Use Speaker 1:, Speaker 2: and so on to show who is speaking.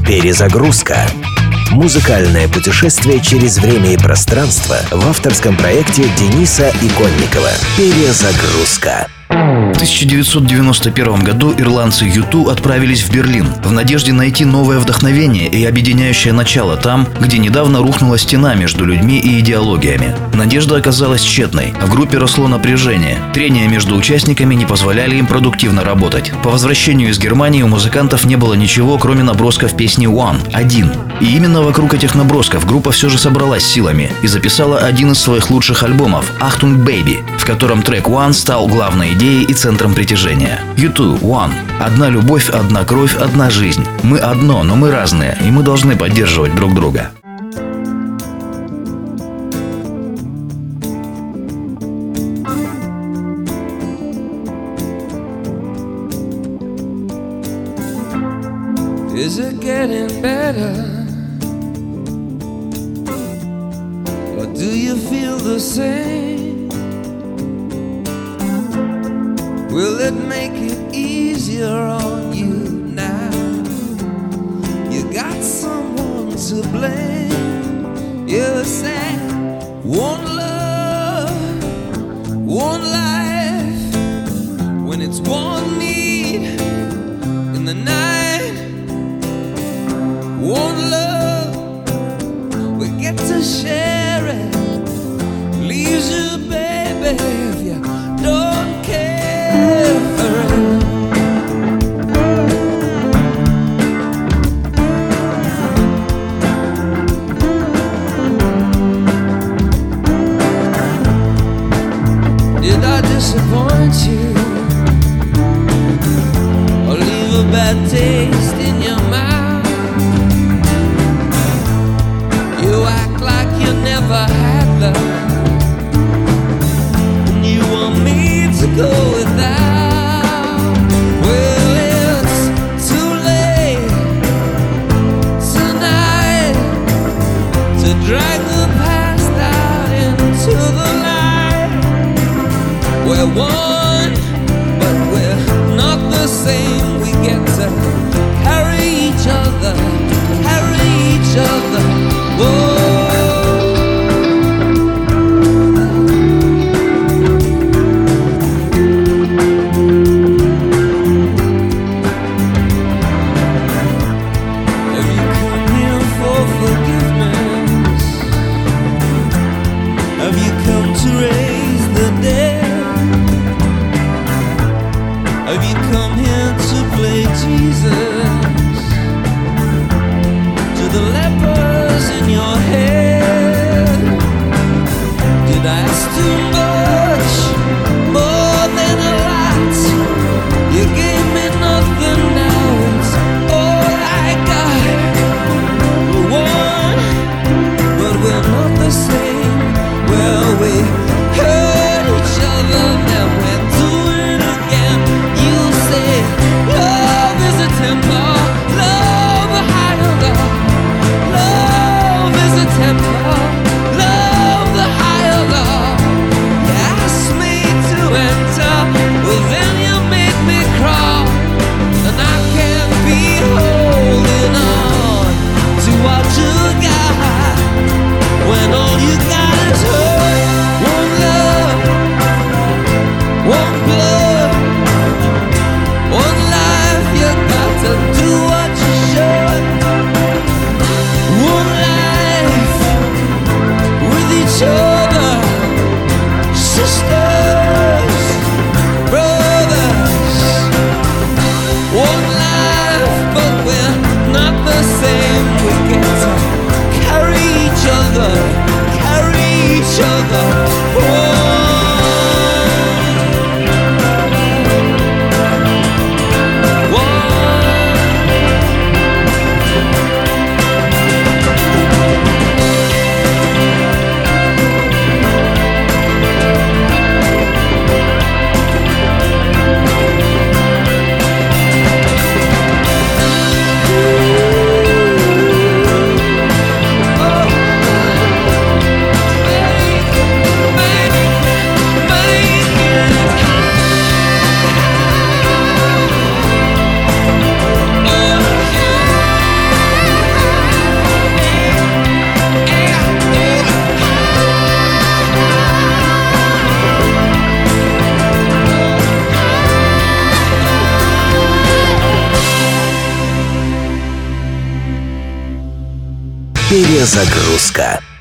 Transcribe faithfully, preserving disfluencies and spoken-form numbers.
Speaker 1: Перезагрузка. Музыкальное путешествие через время и пространство в авторском проекте Дениса Иконникова. Перезагрузка.
Speaker 2: В тысяча девятьсот девяносто первом году ирландцы ю ту отправились в Берлин в надежде найти новое вдохновение и объединяющее начало там, где недавно рухнула стена между людьми и идеологиями. Надежда оказалась тщетной. В группе росло напряжение. Трения между участниками не позволяли им продуктивно работать. По возвращению из Германии у музыкантов не было ничего, кроме набросков песни «One» — «Один». И именно вокруг этих набросков группа все же собралась силами и записала один из своих лучших альбомов «Achtung Baby», в котором трек «One» стал главной идеей и центром притяжения. ю ту «One». Одна любовь, одна кровь, одна жизнь. Мы одно, но мы разные, и мы должны поддерживать друг друга.
Speaker 3: Is it getting better? Or do you feel the same? Will it make it easier on you now? You got someone to blame. You said one love, one life. When it's one need in the night, one love, we get to share it. Leaves you, baby, if you don't care for it. Did I disappoint you, or leave a bad taste in your mouth? You act like you never had love, and you want me to go without. Well, it's too late tonight to drag the past out into the light. We're one, but we're not the same. We get to carry each other, carry each other. Whoa. Have you come here for forgiveness? Have you come to raise the dead?
Speaker 1: Перезагрузка.